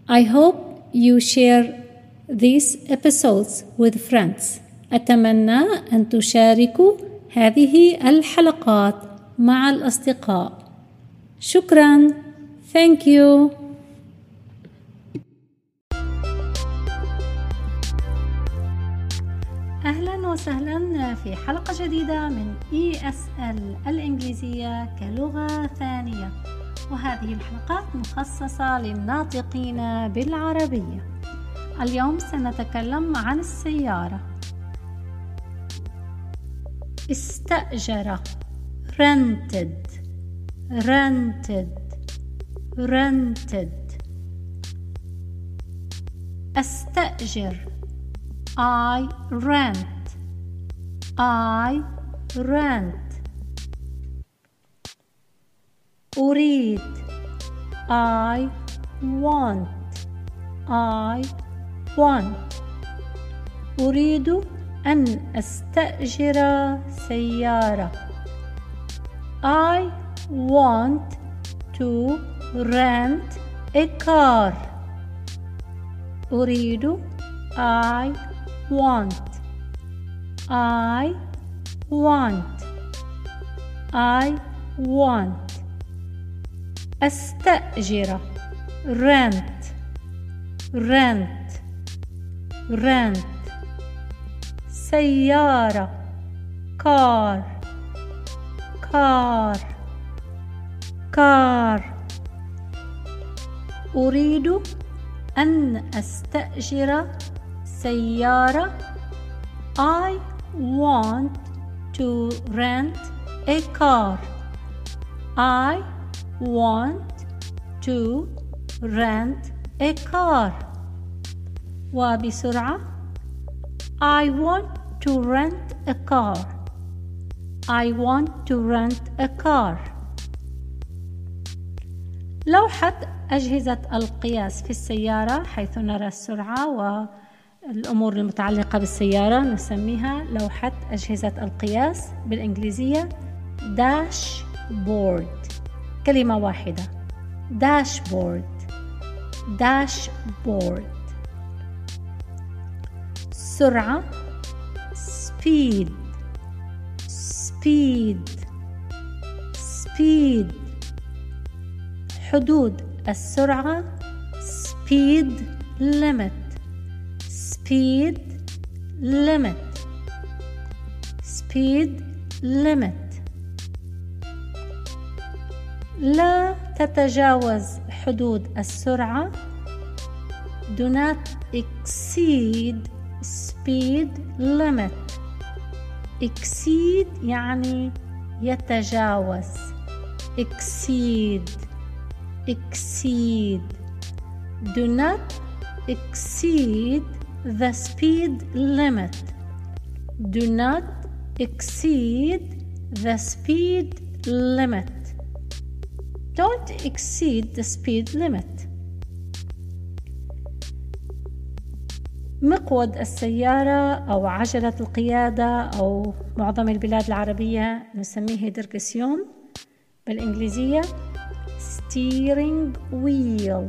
I hope you share these episodes with friends. أتمنى أن تشاركوا هذه الحلقات مع الأصدقاء. شكراً. Thank you. أهلاً وسهلاً في حلقة جديدة من ESL الإنجليزية كلغة ثانية، وهذه الحلقات مخصصة للناطقين بالعربية. اليوم سنتكلم عن السيارة. استأجر rented أستأجر I rent أريد I want أريد أن أستأجر سيارة. I want to rent a car. أريد I want أستأجر rent سيارة car أريد أن أستأجر سيارة. I want to rent a car. I want to rent a car. وبسرعة I want to rent a car. I want to rent a car. لوحة أجهزة القياس في السيارة، حيث نرى السرعة والأمور المتعلقة بالسيارة، نسميها لوحة أجهزة القياس، بالإنجليزية dashboard. كلمة واحدة dashboard. سرعة speed. حدود السرعة speed limit. لا تتجاوز حدود السرعة. Do not exceed speed limit. exceed يعني يتجاوز. exceed. Do not exceed the speed limit. Do not exceed the speed limit. Don't exceed the speed limit. مقود السيارة أو عجلة القيادة أو معظم البلاد العربية نسميه دركسيون، بالإنجليزية steering wheel.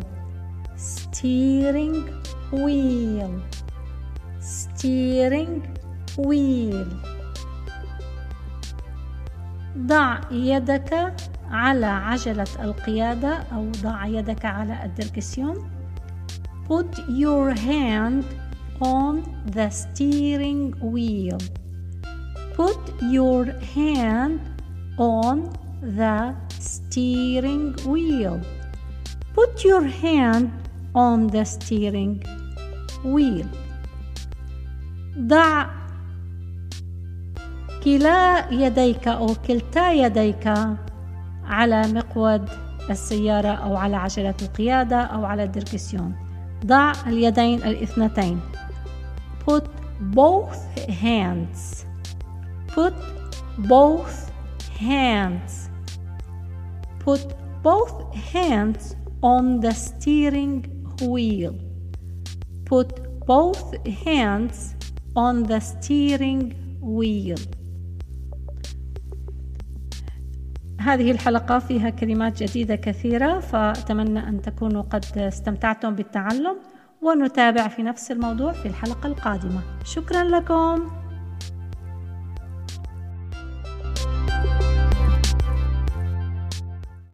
ضع يدك على عجلة القيادة أو ضع يدك على الدركسيون. Put your hand on the steering wheel. Put your hand on the steering wheel. Put your hand on the steering wheel. ضع كلا يديك أو كلتا يديك على مقود السيارة أو على عجلة القيادة أو على الدركسيون. ضع اليدين الاثنتين. Put both hands. Put both hands on the steering wheel. Put both hands on the steering wheel. هذه الحلقة فيها كلمات جديدة كثيرة، فأتمنى أن تكونوا قد استمتعتم بالتعلم، ونتابع في نفس الموضوع في الحلقة القادمة. شكرا لكم.